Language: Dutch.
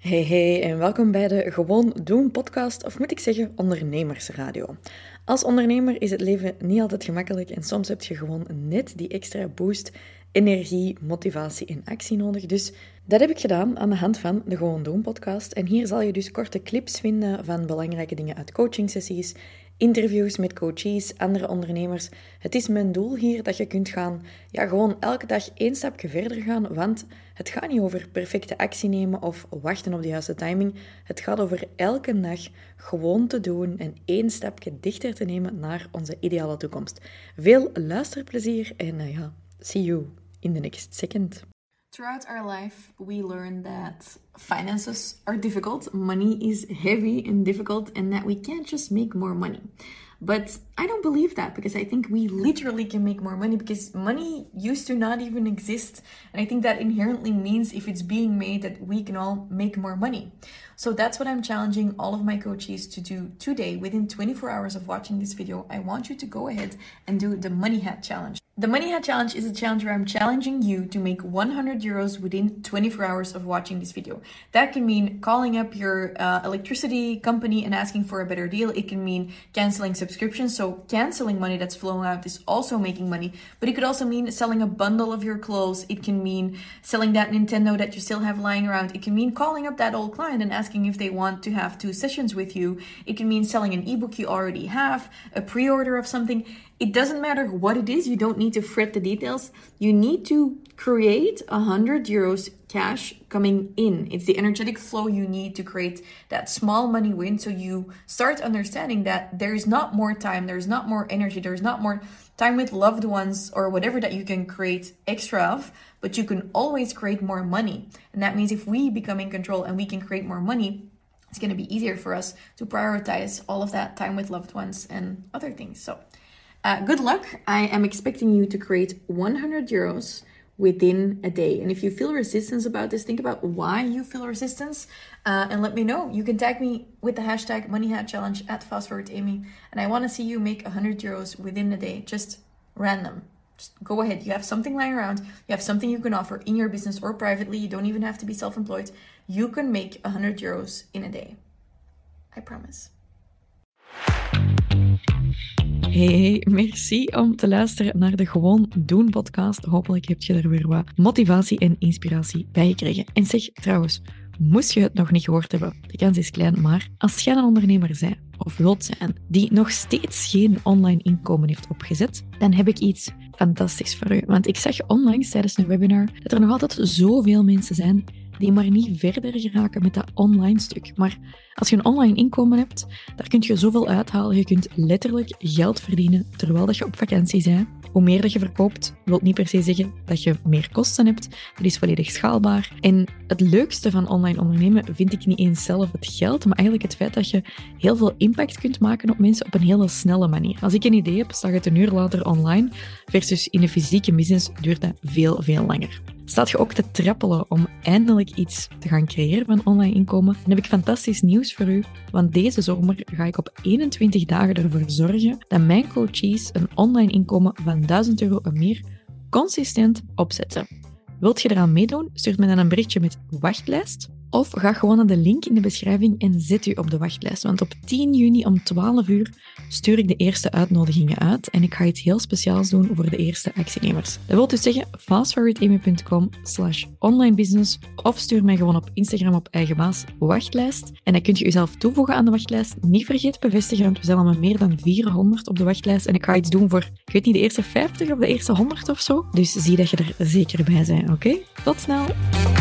Hey en welkom bij de Gewoon Doen podcast, of moet ik zeggen ondernemersradio. Als ondernemer is het leven niet altijd gemakkelijk en soms heb je gewoon net die extra boost, energie, motivatie en actie nodig. Dus dat heb ik gedaan aan de hand van de Gewoon Doen podcast. En hier zal je dus korte clips vinden van belangrijke dingen uit coachingsessies, interviews met coaches, andere ondernemers. Het is mijn doel hier dat je kunt gaan, gewoon elke dag 1 stapje verder gaan, want het gaat niet over perfecte actie nemen of wachten op de juiste timing. Het gaat over elke dag gewoon te doen en 1 stapje dichter te nemen naar onze ideale toekomst. Veel luisterplezier en see you in the next second. Throughout our life, we learn that finances are difficult, money is heavy and difficult, and that we can't just make more money. But I don't believe that, because I think we literally can make more money, because money used to not even exist. And I think that inherently means if it's being made, that we can all make more money. So that's what I'm challenging all of my coaches to do today. Within 24 hours of watching this video, I want you to go ahead and do the Money Hat Challenge. The Money Hat Challenge is a challenge where I'm challenging you to make 100 euros within 24 hours of watching this video. That can mean calling up your electricity company and asking for a better deal. It can mean canceling subscriptions. So canceling money that's flowing out is also making money. But it could also mean selling a bundle of your clothes. It can mean selling that Nintendo that you still have lying around. It can mean calling up that old client and asking if they want to have 2 sessions with you. It can mean selling an ebook you already have, a pre-order of something. It doesn't matter what it is. You don't need to fret the details. You need to create 100 euros cash coming in. It's the energetic flow you need to create that small money win. So you start understanding that there is not more time, there's not more energy, there's not more time with loved ones or whatever that you can create extra of, but you can always create more money. And that means if we become in control and we can create more money, it's going to be easier for us to prioritize all of that time with loved ones and other things. So good luck. I am expecting you to create 100 euros within a day. And if you feel resistance about this, think about why you feel resistance and let me know. You can tag me with the hashtag MoneyHatChallenge at FastForwardAmy. And I want to see you make 100 euros within a day. Just random. Just go ahead. You have something lying around. You have something you can offer in your business or privately. You don't even have to be self-employed. You can make 100 euros in a day. I promise. Hey, merci om te luisteren naar de Gewoon Doen podcast. Hopelijk heb je er weer wat motivatie en inspiratie bij gekregen. En zeg trouwens, moest je het nog niet gehoord hebben, de kans is klein, maar als jij een ondernemer bent of wilt zijn die nog steeds geen online inkomen heeft opgezet, dan heb ik iets fantastisch voor u. Want ik zag onlangs tijdens een webinar dat er nog altijd zoveel mensen zijn die maar niet verder geraken met dat online stuk. Maar als je een online inkomen hebt, daar kun je zoveel uithalen. Je kunt letterlijk geld verdienen terwijl dat je op vakantie bent. Hoe meer dat je verkoopt, wil niet per se zeggen dat je meer kosten hebt. Dat is volledig schaalbaar. En het leukste van online ondernemen vind ik niet eens zelf het geld, maar eigenlijk het feit dat je heel veel impact kunt maken op mensen op een hele snelle manier. Als ik een idee heb, staat het een uur later online, versus in een fysieke business duurt dat veel, veel langer. Staat je ook te trappelen om eindelijk iets te gaan creëren van online inkomen, dan heb ik fantastisch nieuws voor u, want deze zomer ga ik op 21 dagen ervoor zorgen dat mijn coaches een online inkomen van 1000 euro en meer consistent opzetten. Wilt je eraan meedoen? Stuur me dan een berichtje met wachtlijst. Of ga gewoon naar de link in de beschrijving en zet u op de wachtlijst. Want op 10 juni om 12 uur stuur ik de eerste uitnodigingen uit. En ik ga iets heel speciaals doen voor de eerste actienemers. Dat wil dus zeggen fastforwardamy.com/onlinebusiness of stuur mij gewoon op Instagram op eigen baas wachtlijst. En dan kun je jezelf toevoegen aan de wachtlijst. Niet vergeten bevestigen, want we zijn al met meer dan 400 op de wachtlijst. En ik ga iets doen voor, ik weet niet, de eerste 50 of de eerste 100 of zo. Dus zie dat je er zeker bij bent, oké? Tot snel!